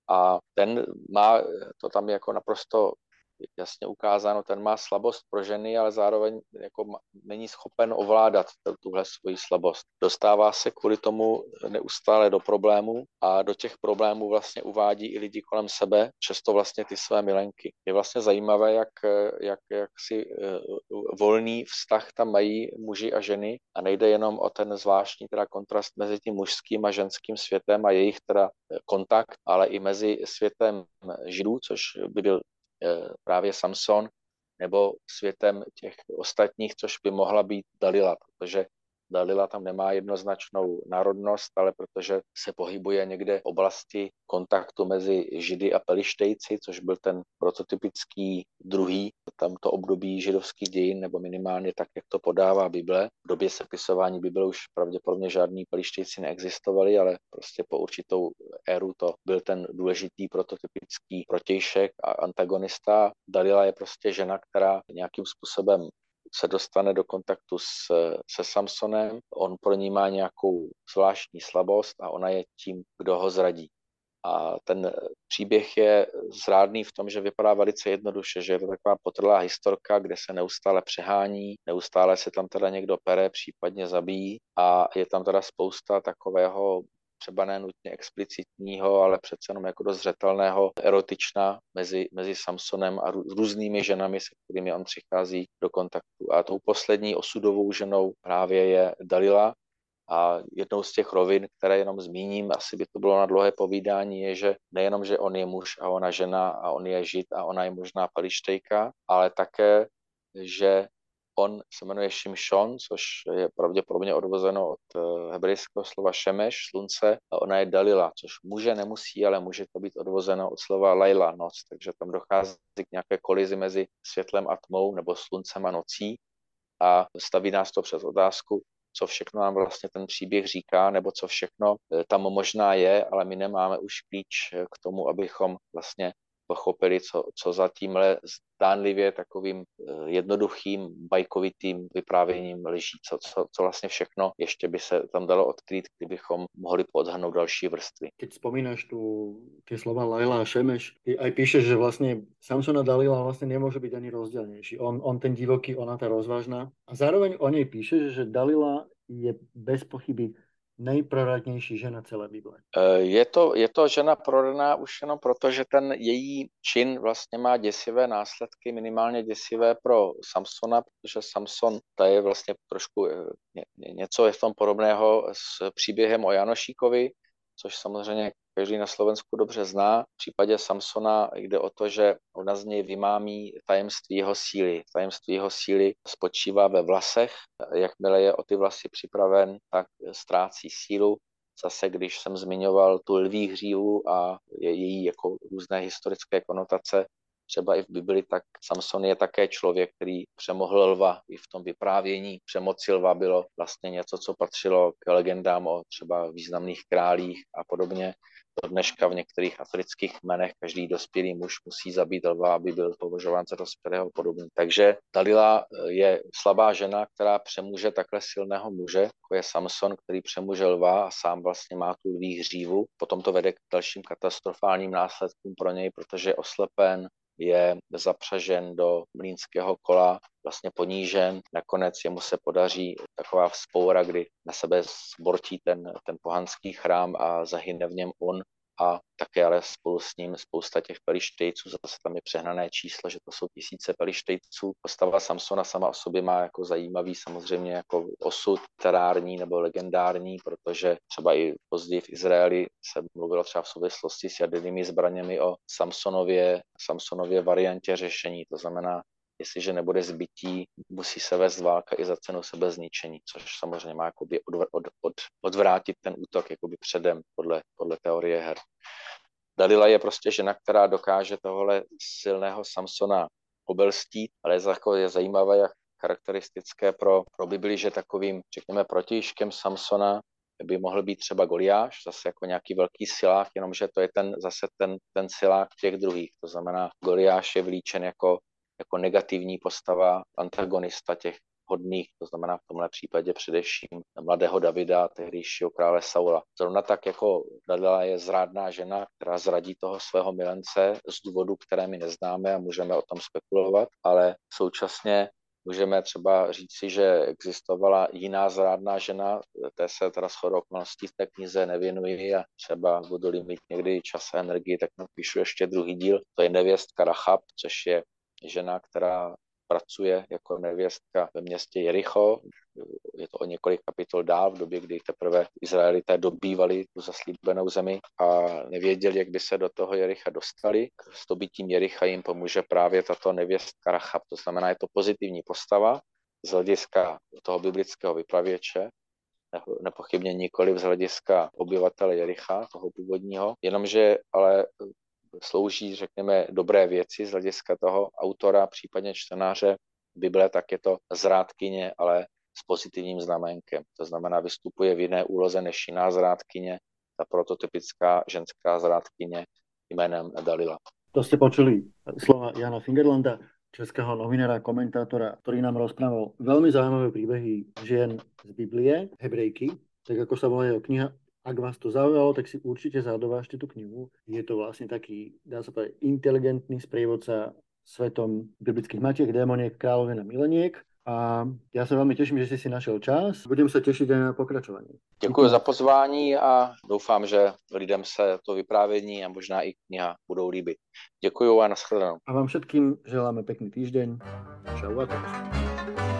A ten má, to tam je jako naprosto jasně ukázáno, ten má slabost pro ženy, ale zároveň jako není schopen ovládat tuhle svoji slabost. Dostává se kvůli tomu neustále do problémů a do těch problémů vlastně uvádí i lidi kolem sebe, často vlastně ty své milenky. Je vlastně zajímavé, jak, jak, jak si volný vztah tam mají muži a ženy a nejde jenom o ten zvláštní teda kontrast mezi tím mužským a ženským světem a jejich teda kontakt, ale i mezi světem židů, což by byl právě Samson, nebo světem těch ostatních, což by mohla být Dalila, protože Dalila tam nemá jednoznačnou národnost, ale protože se pohybuje někde v oblasti kontaktu mezi Židy a Pelištejci, což byl ten prototypický druhý tamto období židovských dějin, nebo minimálně tak, jak to podává Bible. V době sepisování Bible už pravděpodobně žádní Pelištejci neexistovali, ale prostě po určitou éru to byl ten důležitý prototypický protějšek a antagonista. Dalila je prostě žena, která nějakým způsobem se dostane do kontaktu s, se Samsonem, on pro ní má nějakou zvláštní slabost a ona je tím, kdo ho zradí. A ten příběh je zrádný v tom, že vypadá velice jednoduše, že je to taková potrlá historka, kde se neustále přehání, neustále se tam teda někdo pere, případně zabíjí a je tam teda spousta takového třeba ne nutně explicitního, ale přece jenom jako dost zřetelného erotična mezi, mezi Samsonem a různými ženami, se kterými on přichází do kontaktu. A tou poslední osudovou ženou právě je Dalila. A jednou z těch rovin, které jenom zmíním, asi by to bylo na dlouhé povídání, je, že nejenom, že on je muž a ona žena a on je žid a ona je možná Pelištejka, ale také, že on se jmenuje Šimšon, což je pravděpodobně odvozeno od hebrejského slova šemeš, slunce, a ona je Dalila, což může, nemusí, ale může to být odvozeno od slova Laila, noc, takže tam dochází k nějaké kolizi mezi světlem a tmou nebo sluncem a nocí a staví nás to před otázku, co všechno nám vlastně ten příběh říká, nebo co všechno tam možná je, ale my nemáme už klíč k tomu, abychom vlastně pochopili, co, co za tímhle zdánlivě takovým jednoduchým, bajkovitým vyprávěním leží, co, co, co vlastně všechno ještě by se tam dalo odkrýt, kdybychom mohli podhrnout další vrstvy. Keď spomínaš tu tie slova Laila a Šemeš, ty aj píšeš, že vlastne Samsona Dalila vlastne nemôže byť ani rozdielnejší. On, on ten divoký, ona tá rozvážna. A zároveň o nej píšeš, že Dalila je bez pochyby nejproradnější žena celé Bible. Je to, je to žena prodaná už jenom proto, že ten její čin vlastně má děsivé následky, minimálně děsivé pro Samsona, protože Samson, to je vlastně trošku něco je v tom podobného s příběhem o Janošíkovi, což samozřejmě každý na Slovensku dobře zná. V případě Samsona jde o to, že ona z něj vymámí tajemství jeho síly. Tajemství jeho síly spočívá ve vlasech. Jakmile je o ty vlasy připraven, tak ztrácí sílu. Zase, když jsem zmiňoval tu lví hřívu a její jako různé historické konotace, třeba i v Bibli, tak Samson je také člověk, který přemohl lva. I v tom vyprávění přemoci lva bylo vlastně něco, co patřilo k legendám o třeba významných králích a podobně. Do dneška v některých afrických kmenech každý dospělý muž musí zabít lva, aby byl považován za dospělého podobně. Takže Dalila je slabá žena, která přemůže takhle silného muže, jako je Samson, který přemůže lva a sám vlastně má tu lví hřívu. Potom to vede k dalším katastrofálním následkům pro něj, protože je oslepen, je zapřažen do mlýnského kola, vlastně ponížen. Nakonec jemu se podaří taková vzpoura, kdy na sebe zbortí ten, ten pohanský chrám a zahyne v něm on a také ale spolu s ním spousta těch Pelištejců, zase tam je přehnané číslo, že to jsou tisíce Pelištejců. Postava Samsona sama o sobě má jako zajímavý samozřejmě jako osud literární nebo legendární, protože třeba i později v Izraeli se mluvilo třeba v souvislosti s jadernými zbraněmi o Samsonově, Samsonově variantě řešení, to znamená, jestliže nebude zbytí, musí se vést válka i za cenu sebezničení, což samozřejmě má jakoby od, od, od, odvrátit ten útok jakoby předem podle, podle teorie her. Dalila je prostě žena, která dokáže tohle silného Samsona obelstít, ale je, jako je zajímavé a charakteristické pro, pro Bibli, že takovým, řekněme, protějškem Samsona by mohl být třeba Goliáš, zase jako nějaký velký silák, jenomže to je ten, zase ten, ten silák těch druhých. To znamená, Goliáš je vlíčen jako jako negativní postava, antagonista těch hodných, to znamená v tomhle případě především mladého Davida, tehdejšího krále Saula. Zrovna tak jako Dalila je zrádná žena, která zradí toho svého milence z důvodu, které my neznáme a můžeme o tom spekulovat, ale současně můžeme třeba říci, že existovala jiná zrádná žena, té se teda shodou okolností v té knize nevěnuji a třeba budu-li mít někdy čas a energii, tak napíšu ještě druhý díl. To je nevěstka Rachab, což je žena, která pracuje jako nevěstka ve městě Jericho. Je to o několik kapitol dál, v době, kdy teprve Izraelité dobývali tu zaslíbenou zemi a nevěděli, jak by se do toho Jericha dostali. S dobytím Jericha jim pomůže právě tato nevěstka Rachab. To znamená, je to pozitivní postava z hlediska toho biblického vypravěče, nepochybně nikoli z hlediska obyvatele Jericha, toho původního, jenomže ale slouží, řekněme, dobré věci z hlediska toho autora, případně čtenáře Bible, tak je to zrádkyně, ale s pozitivním znamenkem. To znamená, vystupuje v jiné úloze než jiná zrádkyně, ta prototypická ženská zrádkyně jménem Dalila. To ste počuli slova Jana Fingerlanda, českého novinára, komentátora, ktorý nám rozprával veľmi zaujímavé príbehy žien z Biblie, Hebrejky, tak ako sa volá jeho kniha. Ak vás to zaujalo, tak si určite zadovážte tú knihu. Je to vlastne taký, dá sa povedať, inteligentný sprievodca svetom biblických matiek, démoniek, kráľovien a mileniek. A ja sa veľmi teším, že si si našiel čas. Budem sa tešiť aj na pokračovanie. Děkuji za pozvání a doufám, že lidem se to vyprávění a možná i kniha budou líbit. Děkuji a nashledanou. A vám všetkým želáme pekný týždeň. Čau a teraz.